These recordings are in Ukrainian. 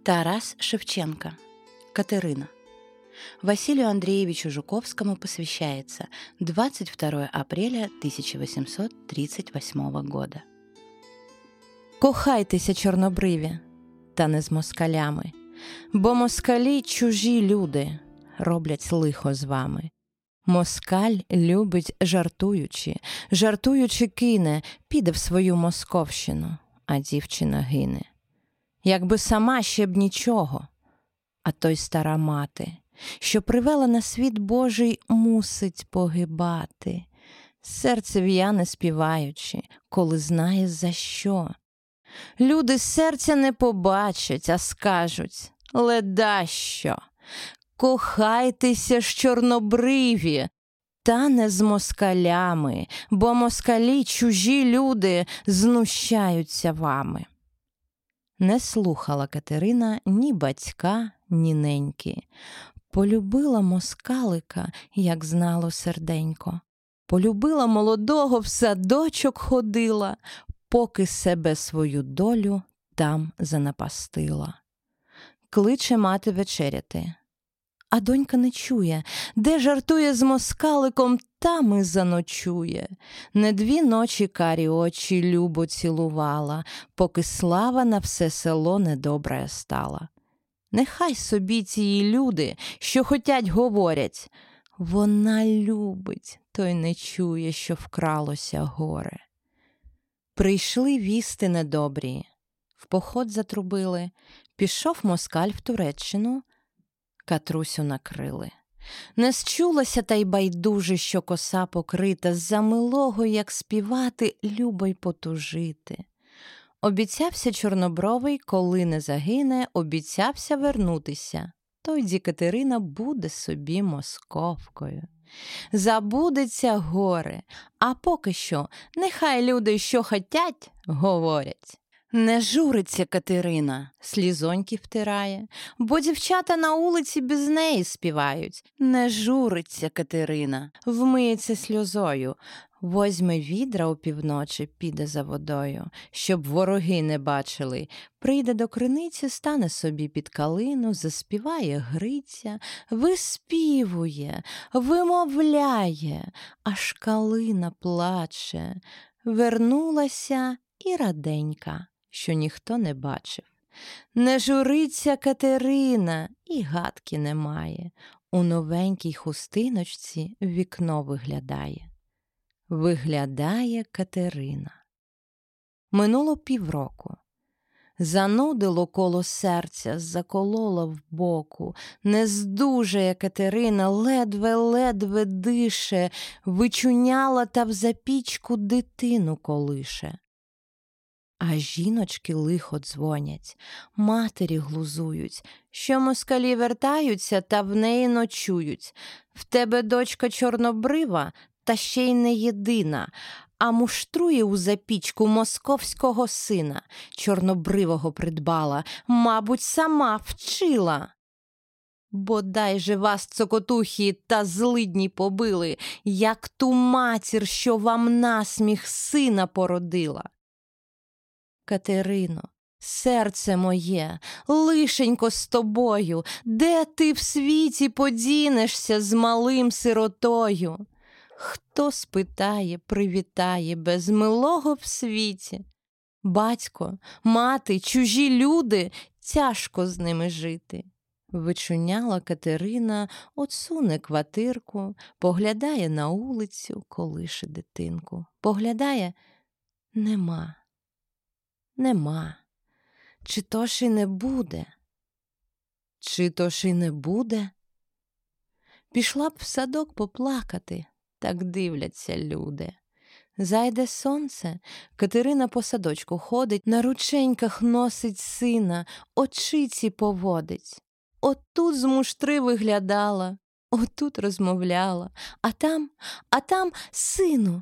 Тарас Шевченко. Катерина. Василию Андреевичу Жуковскому посвящается 22 апреля 1838 года. Кохайтеся, чорнобриві, та не з москалями, бо москалі чужі люди роблять лихо з вами. Москаль любить жартуючи кине, піде в свою московщину, а дівчина гине. Якби сама ще б нічого, а той стара мати, що привела на світ Божий, мусить погибати. Серце в'яне співаючи, коли знає за що. Люди серця не побачать, а скажуть: леда що? Кохайтеся ж, чорнобриві, та не з москалями, бо москалі чужі люди знущаються вами. Не слухала Катерина ні батька, ні неньки. Полюбила москалика, як знало серденько. Полюбила молодого, в садочок ходила, поки себе свою долю там занапастила. Кличе мати вечеряти. А донька не чує, де жартує з москаликом, там і заночує. Не 2 ночі карі очі любо цілувала, поки слава на все село недобрая стала. Нехай собі ці люди, що хотять, говорять. Вона любить, той не чує, що вкралося горе. Прийшли вісти недобрі, в поход затрубили, пішов москаль в Туреччину, Катрусю накрили. Не счулася та й байдуже, що коса покрита, за милого, як співати, любо й потужити. Обіцявся чорнобровий, коли не загине, обіцявся вернутися. Тойді Катерина буде собі московкою. Забудеться горе, а поки що нехай люди, що хотять, говорять. Не журиться Катерина, слізоньки втирає, бо дівчата на вулиці без неї співають. Не журиться Катерина, вмиється сльозою, возьме відра опівночі, піде за водою, щоб вороги не бачили. Прийде до криниці, стане собі під калину, заспіває Гриця, виспівує, вимовляє, аж калина плаче. Вернулася і раденька, що ніхто не бачив. Не журиться Катерина, і гадки немає. У новенькій хустиночці в вікно виглядає. Виглядає Катерина. Минуло 1,5 року. Занудило коло серця, заколола в боку. Не здужає Катерина, ледве-ледве дише, вичуняла та в запічку дитину колише. А жіночки лихо дзвонять, матері глузують, що москалі вертаються та в неї ночують. В тебе дочка чорнобрива, та ще й не єдина, а муштрує у запічку московського сина. Чорнобривого придбала, мабуть, сама вчила. Бодай же вас, цокотухі та злидні, побили, як ту матір, що вам насміх сина породила. Катерино, серце моє, лишенько з тобою, де ти в світі подінешся з малим сиротою? Хто спитає, привітає без милого в світі? Батько, мати, чужі люди, тяжко з ними жити. Вичуняла Катерина, отсуне квартирку, поглядає на вулицю, колише дитинку. Поглядає — нема. Нема. Чи то ж і не буде? Чи то ж і не буде? Пішла б в садок поплакати, так дивляться люди. Зайде сонце, Катерина по садочку ходить, на рученьках носить сина, очиці поводить. Отут з муштри виглядала, отут розмовляла, а там, сину,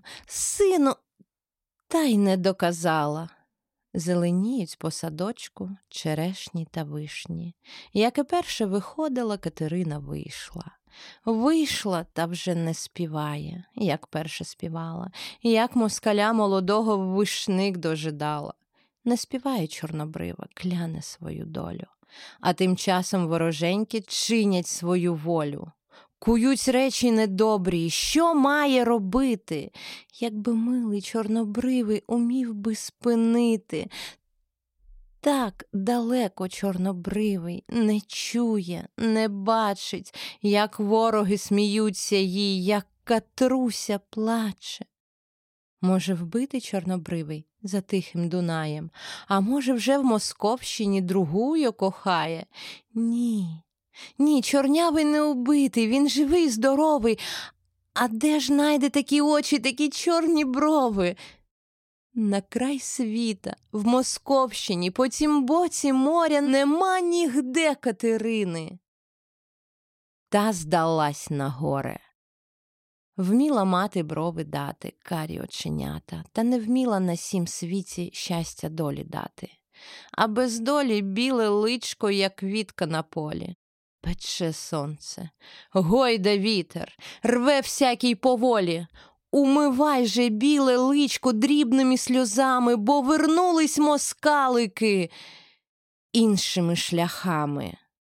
та й не доказала. Зеленіють по садочку черешні та вишні. Як і перше виходила, Катерина вийшла. Вийшла, та вже не співає, як перше співала, як москаля молодого вишник дожидала. Не співає чорнобрива, кляне свою долю. А тим часом вороженьки чинять свою волю. Кують речі недобрі, що має робити? Якби милий чорнобривий умів би спинити. Так далеко чорнобривий не чує, не бачить, як вороги сміються їй, як Катруся плаче. Може, вбити чорнобривий за тихим Дунаєм, а може, вже в Московщині другую кохає? Ні, ні, чорнявий не убитий, він живий, здоровий. А де ж найде такі очі, такі чорні брови? На край світа, в Московщині, по тім боці моря нема нігде Катерини. Та здалась на горе. Вміла мати брови дати, карі оченята, та не вміла на сім світі щастя долі дати. А без долі біле личко, як квітка на полі. Пече сонце, гойда вітер, рве всякий поволі. Умивай же біле личко дрібними сльозами, бо вернулись москалики іншими шляхами.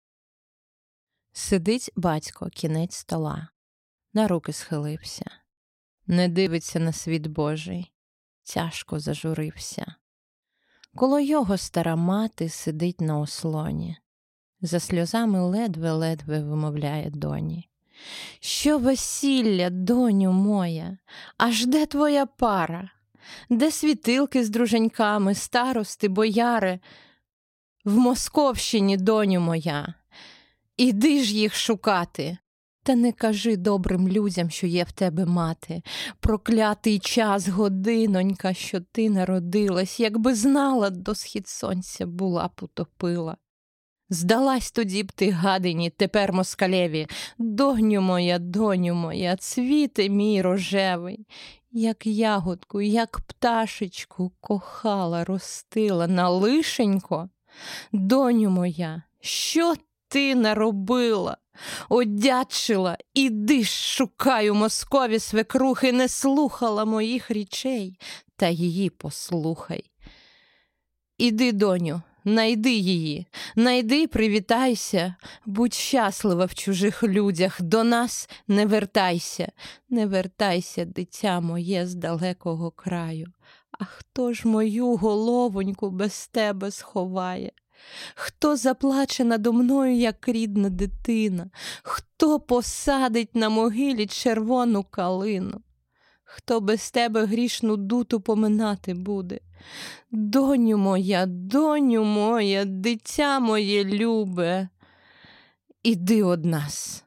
Сидить батько, кінець стола, на руки схилився, не дивиться на світ Божий, тяжко зажурився. Коло його стара мати сидить на ослоні, за сльозами ледве-ледве вимовляє доні. Що весілля, доню моя, аж де твоя пара? Де світилки з друженьками, старости, бояри? В Московщині, доню моя, іди ж їх шукати. Та не кажи добрим людям, що є в тебе мати. Проклятий час, годинонька, що ти народилась, якби знала, до схід сонця була б утопила. Здалась тоді б ти гадині, тепер москалеві. Доню моя, цвіте мій рожевий. Як ягодку, як пташечку кохала, ростила на лишенько. Доню моя, що ти наробила? Одячила, іди ж шукай у Москові свекрухи, не слухала моїх річей, та її послухай. Іди, доню, найди її, найди, привітайся, будь щаслива в чужих людях, до нас не вертайся, не вертайся, дитя моє, з далекого краю. А хто ж мою головоньку без тебе сховає? Хто заплаче надо мною, як рідна дитина? Хто посадить на могилі червону калину? Хто без тебе грішну дуту поминати буде? Доню моя, дитя моє любе, іди од нас.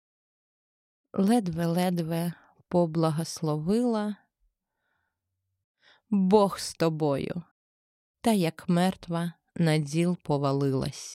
Ледве-ледве поблагословила. Бог з тобою, та як мертва на діл повалилась.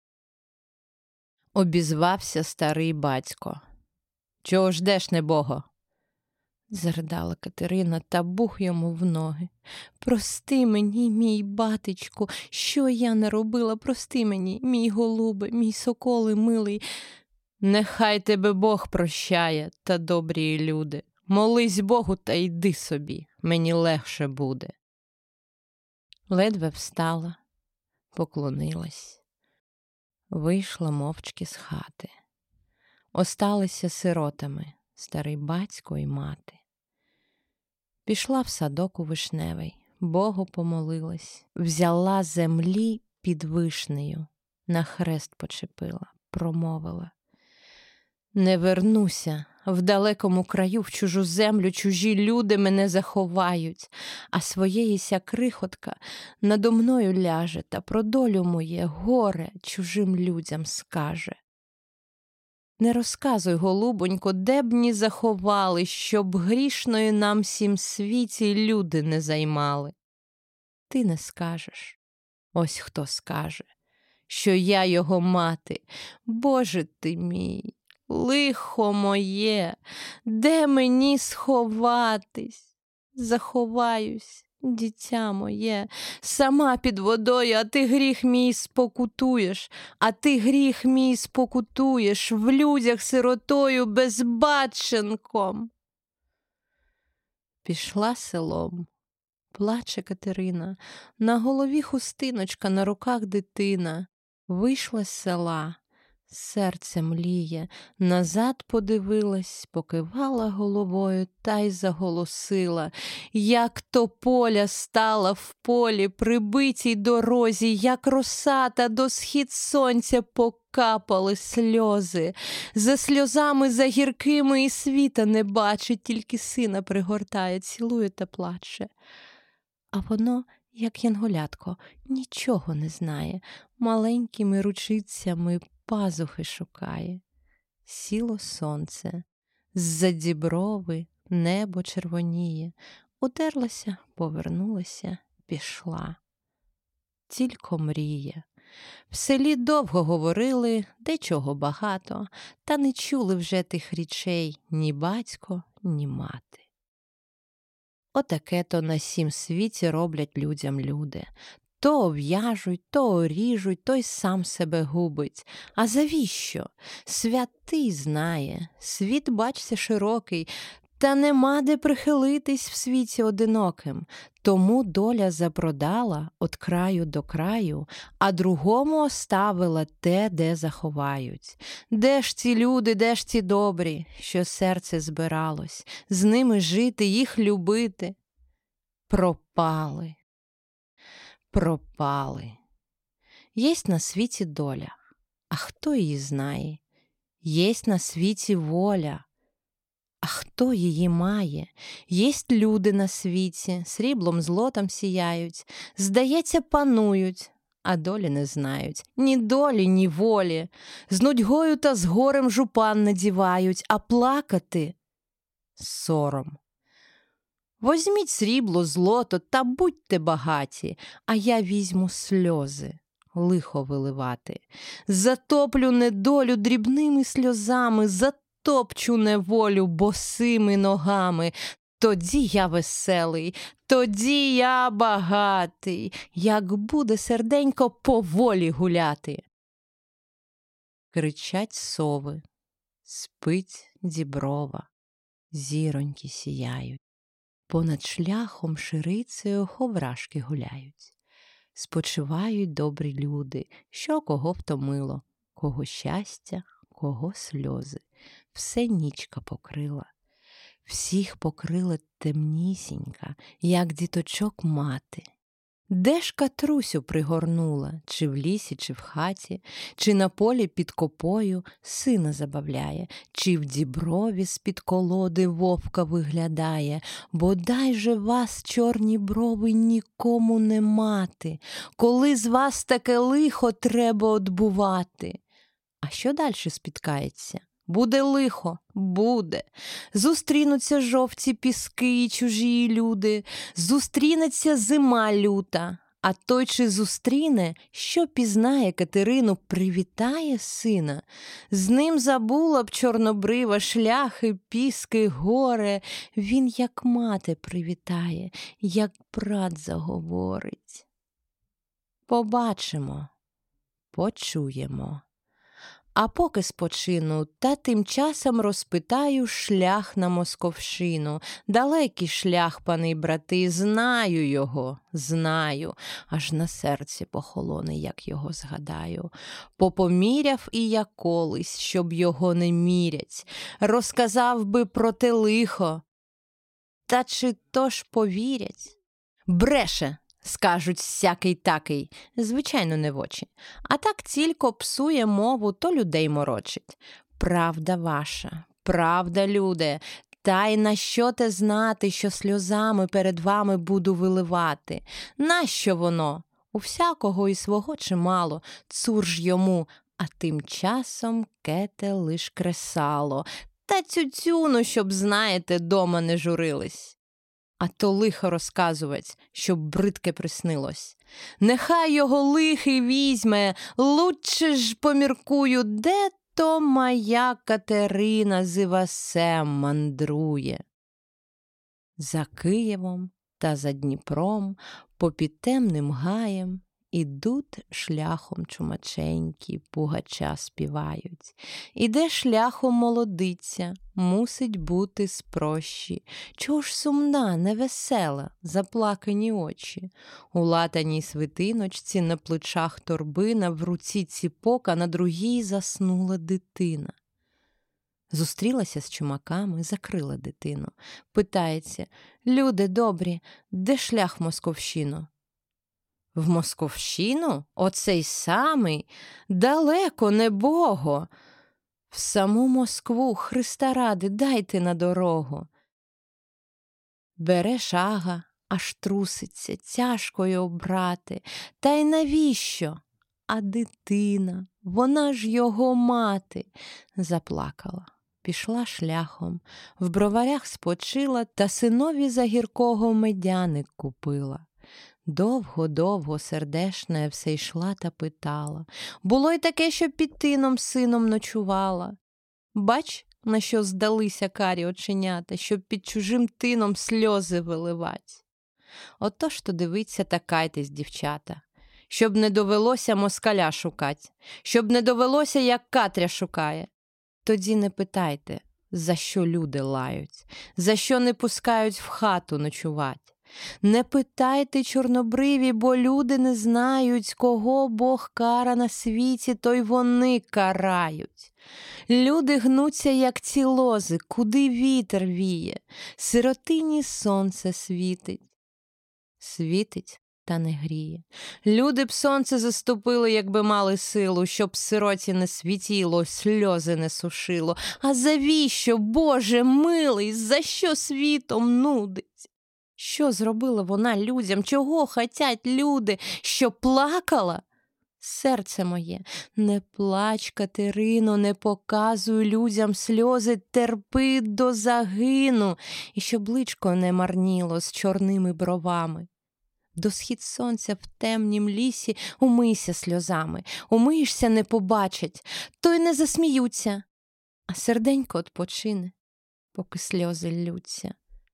Обізвався старий батько. Чого ждеш, небого? Заридала Катерина та бух йому в ноги. Прости мені, мій батечку, що я наробила, прости мені, мій голубе, мій соколе милий. Нехай тебе Бог прощає, та добрі люди. Молись Богу та йди собі, мені легше буде. Ледве встала, поклонилась, вийшла мовчки з хати. Осталися сиротами старий батько і мати. Пішла в садок у вишневий, Богу помолилась, взяла землі під вишнею, на хрест почепила, промовила: не вернуся, в далекому краю, в чужу землю, чужі люди мене заховають, а своєїся крихотка надо мною ляже та про долю моє горе чужим людям скаже. Не розказуй, голубонько, де б ні заховали, щоб грішної нам сім світі люди не займали. Ти не скажеш, ось хто скаже, що я його мати. Боже ти мій, лихо моє, де мені сховатись? Заховаюсь, дитя моє, сама під водою, а ти гріх мій спокутуєш, в людях сиротою безбатченком. Пішла селом, плаче Катерина, на голові хустиночка, на руках дитина. Вийшла з села, серце мліє, назад подивилась, покивала головою та й заголосила, як тополя стала в полі при битій дорозі, як роса та до схід сонця покапали сльози. За сльозами, за гіркими і світа не бачить, тільки сина пригортає, цілує та плаче. А воно, як янголятко, нічого не знає, маленькими ручицями пазухи шукає. Сіло сонце, з-за діброви небо червоніє, утерлася, повернулася, пішла. Тільки мріє. В селі довго говорили, дечого багато, та не чули вже тих річей ні батько, ні мати. Отаке-то на сім світі роблять людям люди. То обв'яжуть, то оріжуть, то й сам себе губить. А завіщо? Святий знає, світ, бачся, широкий, та нема де прихилитись в світі одиноким. Тому доля запродала от краю до краю, а другому оставила те, де заховають. Де ж ці люди, де ж ці добрі, що серце збиралось, з ними жити, їх любити? Пропали. Пропали. Єсть на світі доля, а хто її знає? Єсть на світі воля, а хто її має? Єсть люди на світі, сріблом, злотом сіяють, здається, панують, а долі не знають. Ні долі, ні волі. З нудьгою та з горем жупан надівають, а плакати – сором. Возьміть срібло, злото та будьте багаті, а я візьму сльози, лихо виливати. Затоплю недолю дрібними сльозами, затопчу неволю босими ногами. Тоді я веселий, тоді я багатий, як буде серденько поволі гуляти. Кричать сови, спить діброва, зіроньки сіяють. Понад шляхом ширицею ховрашки гуляють. Спочивають добрі люди, що кого втомило, кого щастя, кого сльози. Все нічка покрила. Всіх покрила темнісінька, як діточок мати. Де ж Катрусю пригорнула, чи в лісі, чи в хаті, чи на полі під копою сина забавляє, чи в діброві з-під колоди вовка виглядає, бодай же вас, чорні брови, нікому не мати, коли з вас таке лихо треба одбувати. А що дальше спіткається? Буде лихо, буде. Зустрінуться жовті піски і чужі люди, зустрінеться зима люта, а той, чи зустріне, що пізнає Катерину, привітає сина. З ним забула б чорнобрива шляхи, піски, горе. Він, як мати, привітає, як брат заговорить. Побачимо, почуємо. А поки спочину, та тим часом розпитаю шлях на Московщину. Далекий шлях, пани й брати, знаю його, знаю. Аж на серці похолоне, як його згадаю. Попоміряв і я колись, щоб його не мірять. Розказав би про те лихо. Та чи то ж повірять? Бреше! Скажуть всякий-такий, звичайно, не в очі. А так тільки псує мову, то людей морочить. Правда ваша, правда, люде, та й на що те знати, що сльозами перед вами буду виливати? Нащо воно? У всякого і свого чимало, цур ж йому, а тим часом кете лиш кресало. Та цю-цюну, щоб, знаєте, дома не журились. А то лихо розказувать, щоб бридке приснилось. Нехай його лихий візьме, лучше ж поміркую, де то моя Катерина з Івасем мандрує. За Києвом та за Дніпром, попід темним гаєм, Ідуть шляхом чумаченькі, пугача співають. Іде шляхом молодиця, мусить бути спрощі. Чого ж сумна, невесела, заплакані очі? У латаній свитиночці, на плечах торбина, в руці ціпок, а на другій заснула дитина. Зустрілася з чумаками, закрила дитину. Питається: люди добрі, де шлях в Московщину? В Московщину? Оцей самий? Далеко, небого. В саму Москву, Христа ради, дайте на дорогу. Бере шага, аж труситься, тяжко його брати. Та й навіщо? А дитина, вона ж його мати. Заплакала. Пішла шляхом, в броварях спочила та синові за гіркого медяник купила. Довго-довго сердешна все йшла та питала. Було й таке, що під тином сином ночувала. Бач, на що здалися карі оченята, щоб під чужим тином сльози виливать. Отож то дивіться та кайтесь, дівчата, щоб не довелося москаля шукать, щоб не довелося, як Катря шукає. Тоді не питайте, за що люди лають, за що не пускають в хату ночувать. Не питайте, чорнобриві, бо люди не знають, кого Бог кара на світі, то й вони карають. Люди гнуться, як ці лози, куди вітер віє, сиротині сонце світить. Світить, та не гріє. Люди б сонце заступили, якби мали силу, щоб сироті не світіло, сльози не сушило. А завіщо, Боже милий, за що світом нудить? Що зробила вона людям? Чого хотять люди? Що плакала? Серце моє, не плач, Катерино, не показуй людям сльози, терпи до загину, і щоб личко не марніло з чорними бровами. До схід сонця в темнім лісі умийся сльозами, умиєшся, не побачать, то й не засміються, а серденько odpoчине, поки сльози ллються.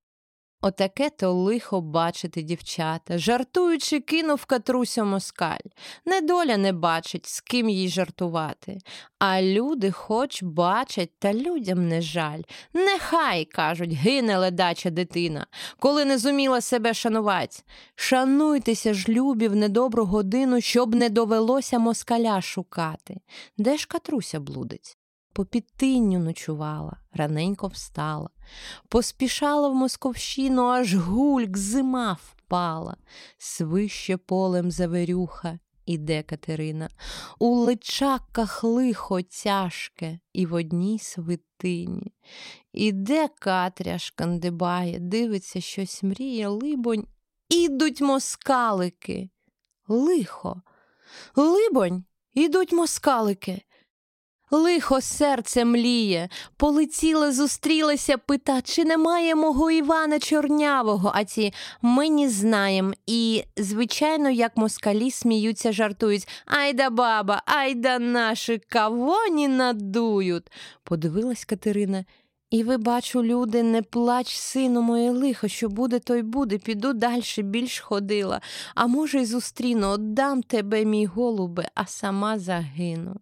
Отаке то лихо бачити, дівчата, жартуючи, кинув Катрусю москаль. Недоля не бачить, з ким їй жартувати. А люди хоч бачать, та людям не жаль. Нехай, кажуть, гине ледача дитина, коли не зуміла себе шанувать. Шануйтеся ж, любі, в недобру годину, щоб не довелося москаля шукати. Де ж Катруся блудить? По підтинню ночувала, раненько встала. Поспішала в Московщину, аж гульк, зима впала. Свище полем завирюха, іде Катерина. У личаках лихо тяжке і в одній свитині. Іде Катря, шкандибає, дивиться, щось мріє, либонь, ідуть москалики. Лихо, либонь, ідуть москалики. Лихо серце мліє, полетіла, зустрілася, пита, чи немає мого Івана Чорнявого, а ті ми не знаєм. І, звичайно, як москалі сміються, жартують. Айда баба, айда наші, кого не надують. Подивилась Катерина. І ви, бачу, люди, не плач, сину моє, лихо, що буде, то й буде, піду дальше, більш ходила. А може й зустріну, отдам тебе, мій голубе, а сама загину.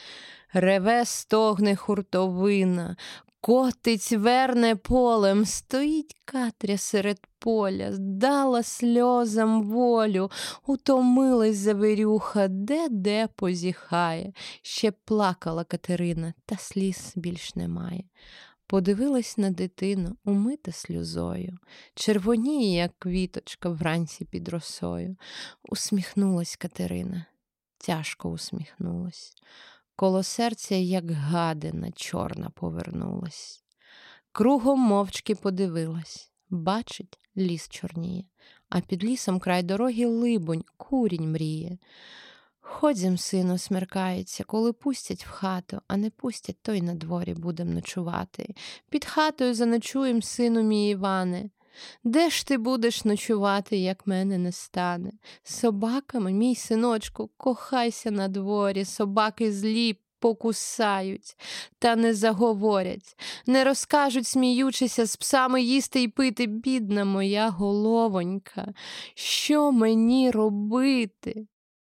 Реве, стогне хуртовина, котить, верне полем, стоїть Катря серед поля, дала сльозам волю, утомилась завирюха, де позіхає. Ще плакала Катерина, та сліз більш немає. Подивилась на дитину, умита сльозою, червоніє, як квіточка вранці під росою. Усміхнулась Катерина, тяжко усміхнулась. Коло серця, як гадина, чорна повернулась. Кругом мовчки подивилась. Бачить, ліс чорніє, а під лісом край дороги либонь, курінь мріє. Ходім, сину, смеркається, коли пустять в хату, а не пустять, то й на дворі будем ночувати. Під хатою заночуєм, сину мій Іване. Де ж ти будеш ночувати, як мене не стане? З собаками, мій синочку, кохайся на дворі, собаки злі покусають, та не заговорять, не розкажуть, сміючися, з псами їсти й пити, бідна моя головонька. Що мені робити?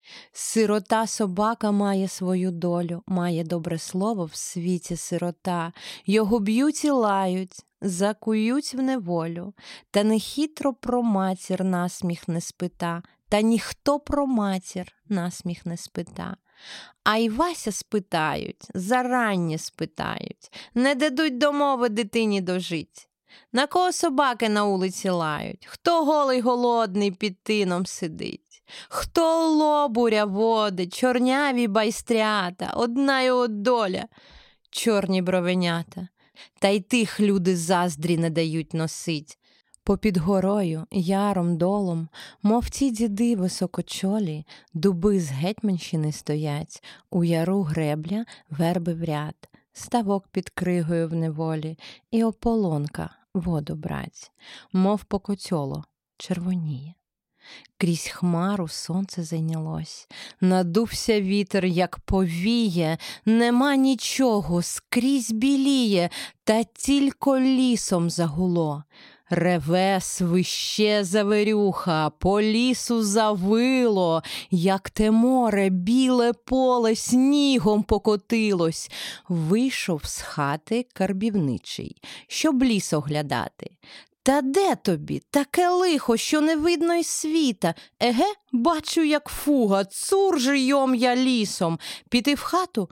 Сирота собака має свою долю, має добре слово в світі сирота. Його б'ють і лають, закують в неволю. Та нехитро про матір насміх не спита, та ніхто про матір насміх не спита. А й Вася спитають, зараннє спитають, не дадуть до мови дитині дожить. На кого собаки на вулиці лають, хто голий голодний під тином сидить. Хто лобуря водить, чорняві байстрята, одна його доля, чорні бровенята. Та й тих люди заздрі не дають носить. Попід горою, яром, долом, мов ті діди високочолі, дуби з Гетьманщини стоять, у яру гребля, верби в ряд, ставок під кригою в неволі, і ополонка воду брать, мов покотьоло, червоніє. Крізь хмару сонце зайнялось, надувся вітер, як повіє, нема нічого, скрізь біліє, та тільки лісом загуло. Реве, свище завирюха, по лісу завило, як те море, біле поле снігом покотилось. Вийшов з хати карбівничий, щоб ліс оглядати. Та де тобі? Таке лихо, що не видно й світа. Еге, бачу, як фуга, цур же йом я лісом. Піти в хату?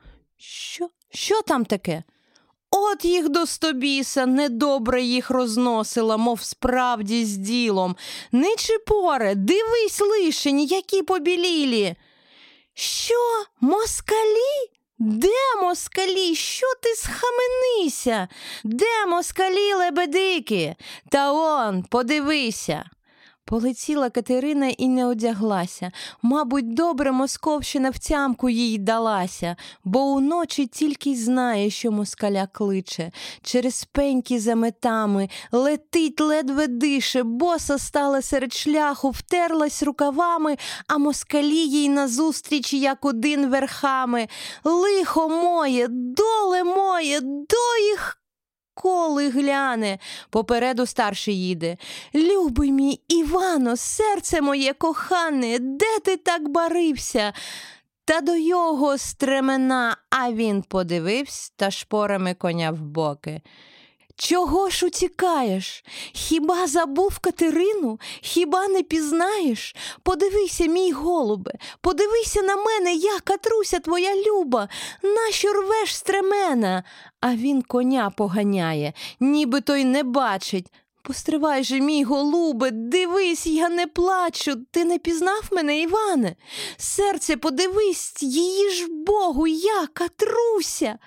Що там таке? От їх до стобіса, недобре їх розносила, мов справді з ділом. Ничи поре, дивись лишень, які побілілі. Що, москалі? Де москалі? Що ти схаменися? Де москалі лебедики? Та он, подивися. Полетіла Катерина і не одяглася. Мабуть, добре московщина в тямку їй далася, бо уночі тільки й знає, що москаля кличе. Через пеньки за метами, летить, ледве дише, боса стала серед шляху, втерлась рукавами, а москалі їй назустріч, як один верхами. Лихо моє, доле моє, до їх коли гляне, попереду старший їде. Любий мій Івано, серце моє кохане, де ти так барився? Та до його стремена, а він подивився та шпорами коня в боки. Чого ж утікаєш? Хіба забув Катерину? Хіба не пізнаєш? Подивися, мій голубе, подивися на мене, я, Катруся твоя люба, нащо рвеш стремена? А він коня поганяє, ніби той не бачить. Постривай же, мій голубе, дивись, я не плачу, ти не пізнав мене, Іване? Серце, подивись, її ж Богу, я, Катруся.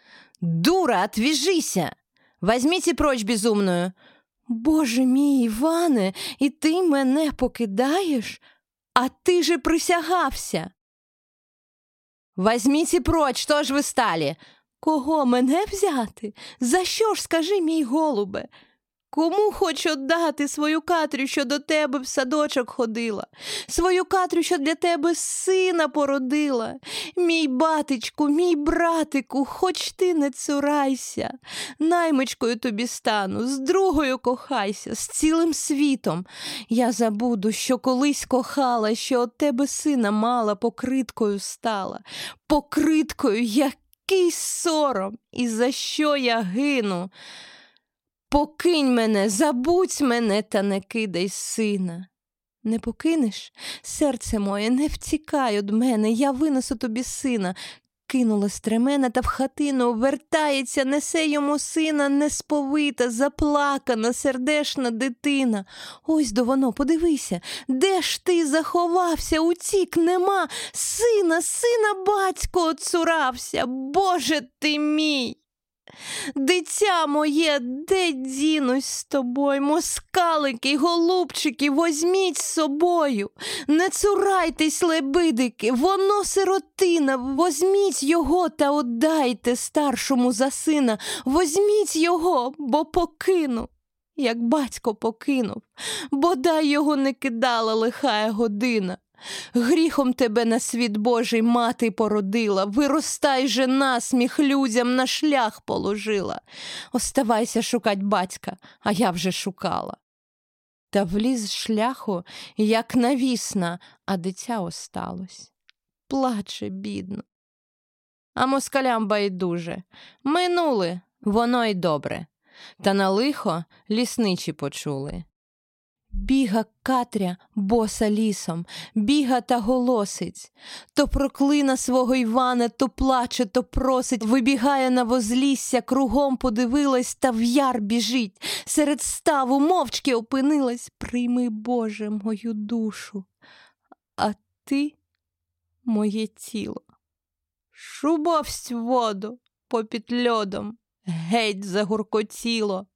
Дура, отвяжися! Возьмите прочь безумную. Боже мій, Іване, і ти мене покидаєш? А ти же присягався. Возьмите прочь, що ж ви стали? Кого мене взяти? За що ж, скажи, мій голубе? Кому хочу віддати свою Катрю, що до тебе в садочок ходила? Свою Катрю, що для тебе сина породила? Мій батечку, мій братику, хоч ти не цурайся. Наймичкою тобі стану, з другою кохайся, з цілим світом. Я забуду, що колись кохала, що от тебе сина мала, покриткою стала. Покриткою, який сором, і за що я гину? Покинь мене, забудь мене, та не кидай сина. Не покинеш? Серце моє, не втікай од мене, я винесу тобі сина. Кинула стремена та в хатину, вертається, несе йому сина, несповита, заплакана, сердешна дитина. Ось до воно, подивися, де ж ти заховався, утік, нема, сина, батько оцурався, Боже ти мій! Дитя моє, де дінусь з тобою, москалики, голубчики, возьміть з собою, не цурайтесь, лебедики, воно сиротина, возьміть його та отдайте старшому за сина, возьміть його, бо покину, як батько покинув, бодай його не кидала лихая година. Гріхом тебе на світ Божий мати породила, виростай же насміх людям на шлях положила. Оставайся шукать батька, а я вже шукала. Та вліз з шляху, як навісна, а дитя осталось. плаче бідно. А москалям байдуже. Минули, воно й добре. Та на лихо лісничі почули. Біга Катря боса лісом, біга та голосить. То проклина свого Івана, то плаче, то просить. Вибігає на возлісся, кругом подивилась, та в яр біжить. Серед ставу мовчки опинилась. Прийми, Боже, мою душу, а ти моє тіло. Шубовсть в воду попід льодом, геть загуркотіло.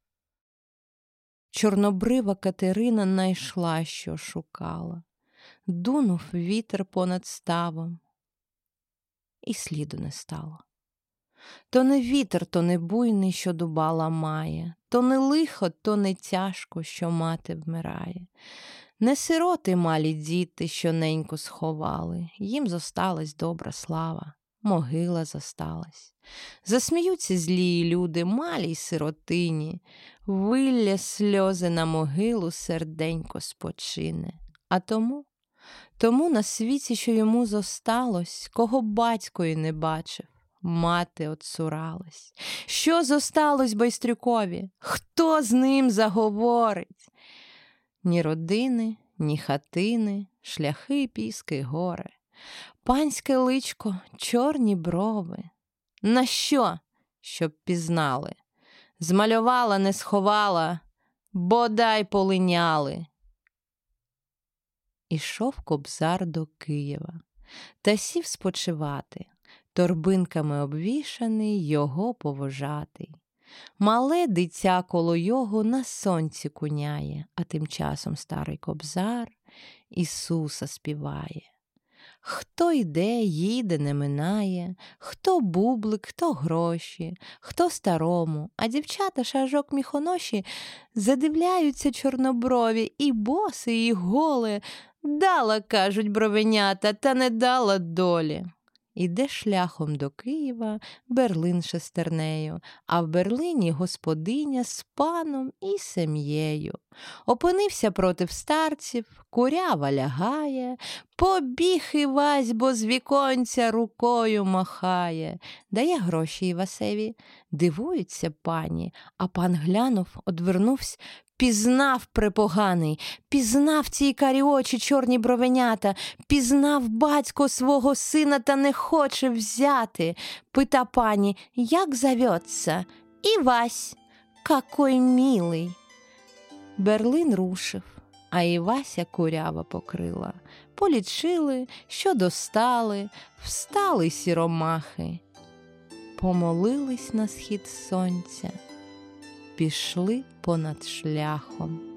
Чорнобрива Катерина найшла, що шукала. Дунув вітер понад ставом, і сліду не стало. То не вітер, то не буйний, що дуба ламає, то не лихо, то не тяжко, що мати вмирає. Не сироти малі діти, що неньку сховали, їм зосталась добра слава, могила зосталась. Засміються злії люди, малій сиротині, вилля сльози на могилу, серденько спочине. А тому на світі, що йому зосталось, кого батько й не бачив, мати отцуралась. Що зосталось Байстрюкові? Хто з ним заговорить? Ні родини, ні хатини, шляхи, піски, гори. Панське личко, чорні брови. На що? Щоб пізнали. Змалювала, не сховала, бодай полиняли. Ішов Кобзар до Києва, та сів спочивати, торбинками обвішаний його повожатий. Мале дитя коло його на сонці куняє, а тим часом старий Кобзар Ісуса співає. Хто йде, їде, не минає, хто бублик, хто гроші, хто старому, а дівчата шажок міхоноші задивляються чорноброві, і боси, і голе. Дала, кажуть бровенята, та не дала долі. Іде шляхом до Києва Берлин шестернею, а в Берлині господиня з паном і сім'єю. Опинився против старців, курява лягає, побіг Івась, бо з віконця рукою махає. Дає гроші Івасеві, дивуються пані, а пан глянув, одвернувся, пізнав препоганий, пізнав ці карі очі, чорні бровенята, пізнав батько свого сина та не хоче взяти. Пита пані, як зовется? Івась, какой милий. Берлин рушив, а Івася курява покрила. Полічили, що достали, встали сіромахи. Помолились на схід сонця, пішли понад шляхом.